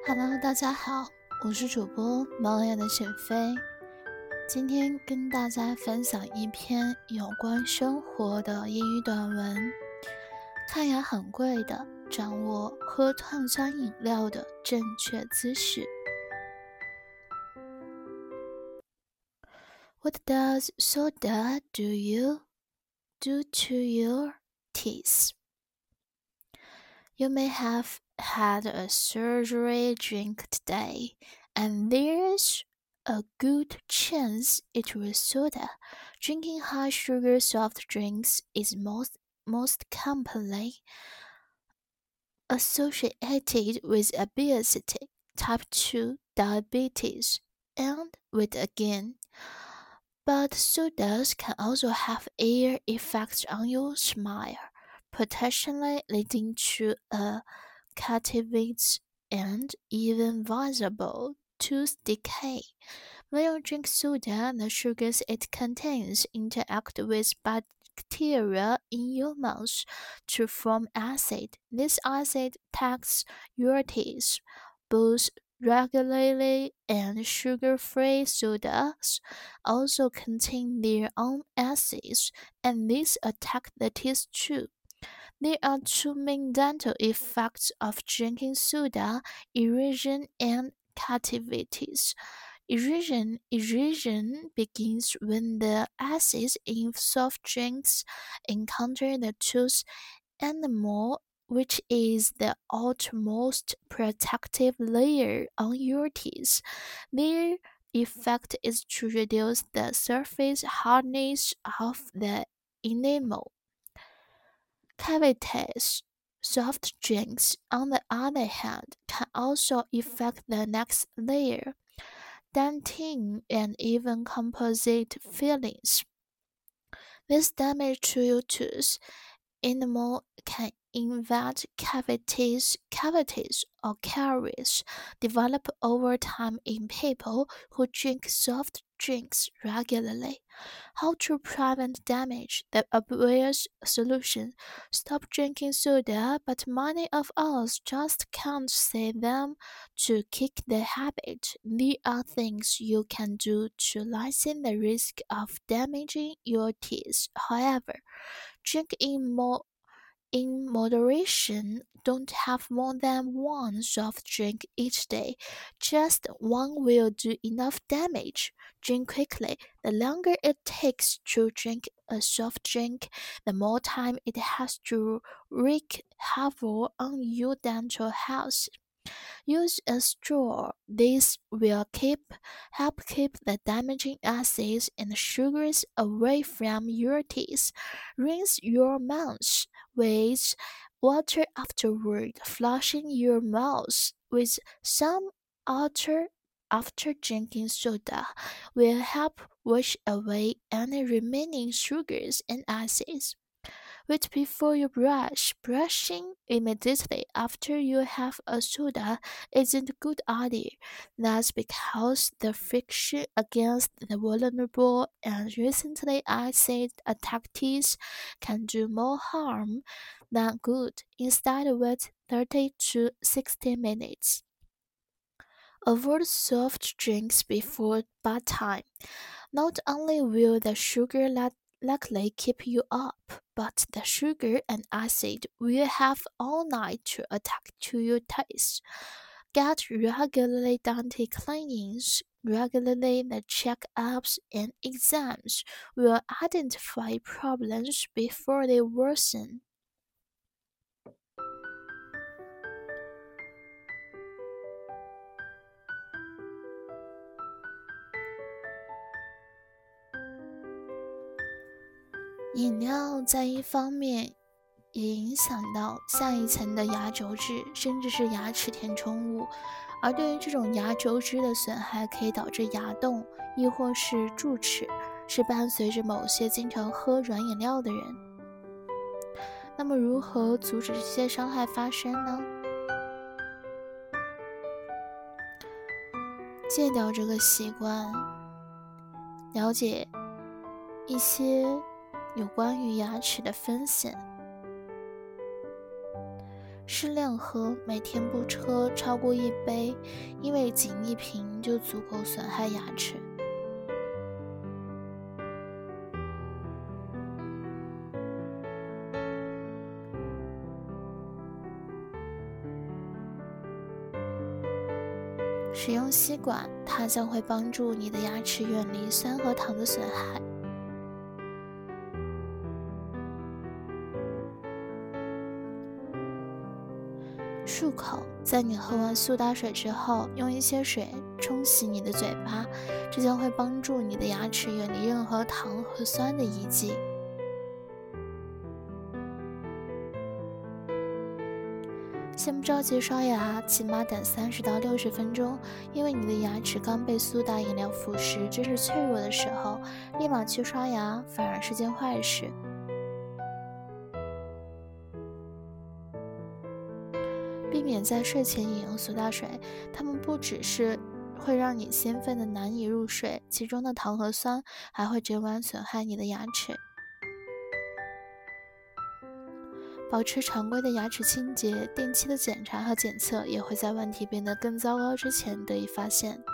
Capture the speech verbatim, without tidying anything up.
Hello，大家好，我是主播猫眼的沈飞。今天跟大家分享一篇有关生活的英语短文。看牙很贵的，掌握喝碳酸饮料的正确姿势。What does soda do you do to your teeth? You may have had a surgery drink today, and there's a good chance it was soda. Drinking high sugar soft drinks is most most commonly associated with obesity, type two diabetes, and weight gain. But sodas can also have air effects on your smile, potentially leading to a cavities and even visible tooth decay. When you drink soda, the sugars it contains interact with bacteria in your mouth to form acid. This acid attacks your teeth, both regularly and sugar-free sodas also contain their own acids, and these attack the teeth too. There are two main dental effects of drinking soda: erosion and cavities. Erosion erosion begins when the acids in soft drinks encounter the tooth enamel, which is the outermost protective layer on your teeth. Their effect is to reduce the surface hardness of the enamel. Cavities. Soft drinks, on the other hand, can also affect the next layer, dentin, and even composite fillings. This damage to your tooth enamel can invite cavities, cavities or caries develop over time in people who drink soft drinks regularly. How to prevent damage? The obvious solution: stop drinking soda, but many of us just can't say them to kick the habit. There are things you can do to lessen the risk of damaging your teeth. However, drink in more in moderation. Don't have more than one soft drink each day. Just one will do enough damage. Drink quickly. The longer it takes to drink a soft drink, the more time it has to wreak havoc on your dental health. Use a straw. This will keep help keep the damaging acids and sugars away from your teeth. Rinse your mouth with water afterward, flushing your mouth with some water after drinking soda will help wash away any remaining sugars and acids. Wait before you brush. Brushing immediately after you have a soda isn't a good idea. That's because the friction against the vulnerable and recently acid attacked teeth can do more harm than good. Instead, wait thirty to sixty minutes. Avoid soft drinks before bedtime. Not only will the sugar let likely keep you up, but the sugar and acid will have all night to attack to your taste. Get regularly dental cleanings. Regularly the checkups and exams will identify problems before they worsen. 饮料在一方面也影响到下一层的牙轴质，甚至是牙齿填充物。而对于这种牙轴质的损害，可以导致牙洞，亦或是蛀齿，是伴随着某些经常喝软饮料的人。那么，如何阻止这些伤害发生呢？戒掉这个习惯，了解一些有关于牙齿的风险。 适量喝，每天不喝超过一杯，因为仅一瓶就足够损害牙齿。使用吸管，它将会帮助你的牙齿远离酸和糖的损害。漱口，在你喝完苏打水之后，用一些水冲洗你的嘴巴，这将会帮助你的牙齿远离任何糖和酸的遗迹。先不着急刷牙，起码等三十到六十分钟，因为你的牙齿刚被苏打饮料腐蚀，这是脆弱的时候，立马去刷牙反而是件坏事。避免在睡前饮用苏打水，它们不只是会让你兴奋的难以入睡，其中的糖和酸还会整晚损害你的牙齿。保持常规的牙齿清洁，定期的检查和检测也会在问题变得更糟糕之前得以发现。